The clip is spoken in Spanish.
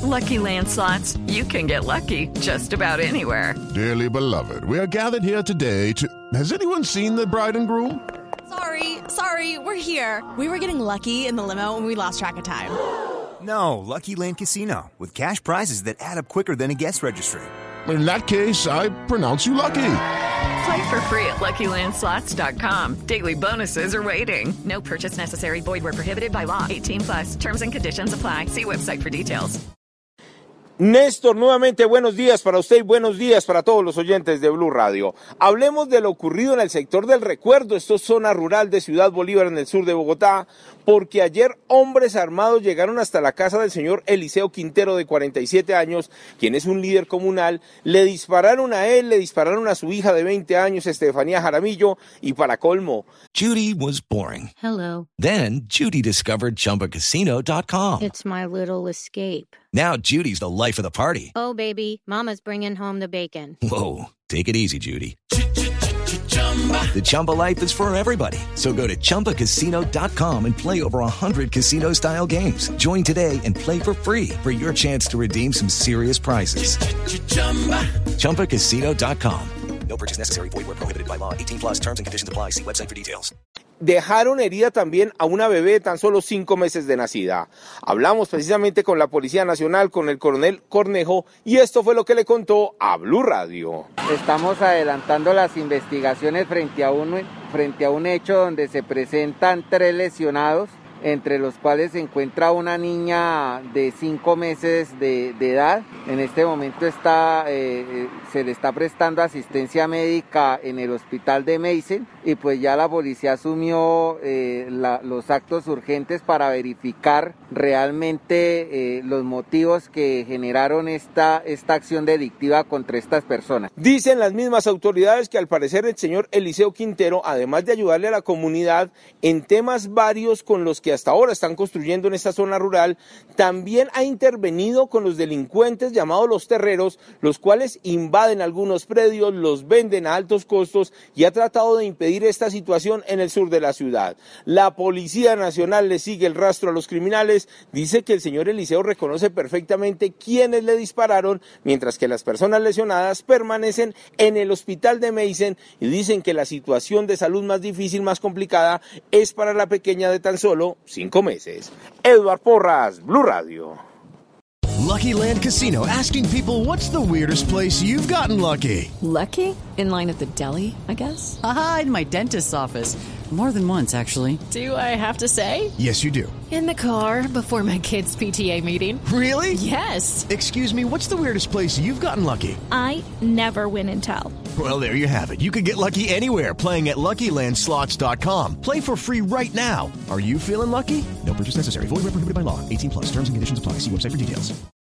Lucky Land Slots, you can get lucky just about anywhere. Dearly beloved, we are gathered here today to... Has anyone seen the bride and groom? Sorry, we're here. We were getting lucky in the limo and we lost track of time. No, Lucky Land Casino, with cash prizes that add up quicker than a guest registry. In that case, I pronounce you lucky. Play for free at LuckyLandSlots.com. Daily bonuses are waiting. No purchase necessary. Void where prohibited by law. 18+. Terms and conditions apply. See website for details. Néstor, nuevamente buenos días para usted y buenos días para todos los oyentes de Blue Radio. Hablemos de lo ocurrido en el sector del Recuerdo, esto es zona rural de Ciudad Bolívar en el sur de Bogotá, porque ayer hombres armados llegaron hasta la casa del señor Eliseo Quintero de 47 años, quien es un líder comunal, le dispararon a él, le dispararon a su hija de 20 años, Estefanía Jaramillo, y para colmo. Judy was boring. Hello. Then Judy discovered ChumbaCasino.com. It's my little escape. Now Judy's the life of the party. Oh, baby, mama's bringing home the bacon. Whoa, take it easy, Judy. The Chumba life is for everybody. So go to ChumbaCasino.com and play over 100 casino-style games. Join today and play for free for your chance to redeem some serious prizes. ChumbaCasino.com. No purchase necessary. Void where prohibited by law. 18+ terms and conditions apply. See website for details. Dejaron herida también a una bebé de tan solo 5 meses de nacida. Hablamos precisamente con la Policía Nacional, con el coronel Cornejo, y esto fue lo que le contó a Blue Radio. Estamos adelantando las investigaciones frente a un hecho donde se presentan 3 lesionados, entre los cuales se encuentra una niña de 5 meses de edad. En este momento se le está prestando asistencia médica en el hospital de Meissen, y pues ya la policía asumió los actos urgentes para verificar realmente los motivos que generaron esta acción delictiva contra estas personas. Dicen las mismas autoridades que al parecer el señor Eliseo Quintero, además de ayudarle a la comunidad en temas varios con los que hasta ahora están construyendo en esta zona rural, también ha intervenido con los delincuentes llamados los terreros, los cuales invaden algunos predios, los venden a altos costos y ha tratado de impedir esta situación en el sur de la ciudad. La Policía Nacional le sigue el rastro a los criminales, dice que el señor Eliseo reconoce perfectamente quiénes le dispararon, mientras que las personas lesionadas permanecen en el hospital de Meissen y dicen que la situación de salud más difícil, más complicada, es para la pequeña de tan solo 5 meses. Edward Porras, Blue Radio. Lucky Land Casino, asking people, what's the weirdest place you've gotten lucky? Lucky? In line at the deli, I guess? Aha, in my dentist's office. More than once, actually. Do I have to say? Yes, you do. In the car before my kids' PTA meeting. Really? Yes. Excuse me, what's the weirdest place you've gotten lucky? I never win and tell. Well, there you have it. You can get lucky anywhere, playing at LuckyLandSlots.com. Play for free right now. Are you feeling lucky? No purchase necessary. Void where prohibited by law. 18+. Terms and conditions apply. See website for details.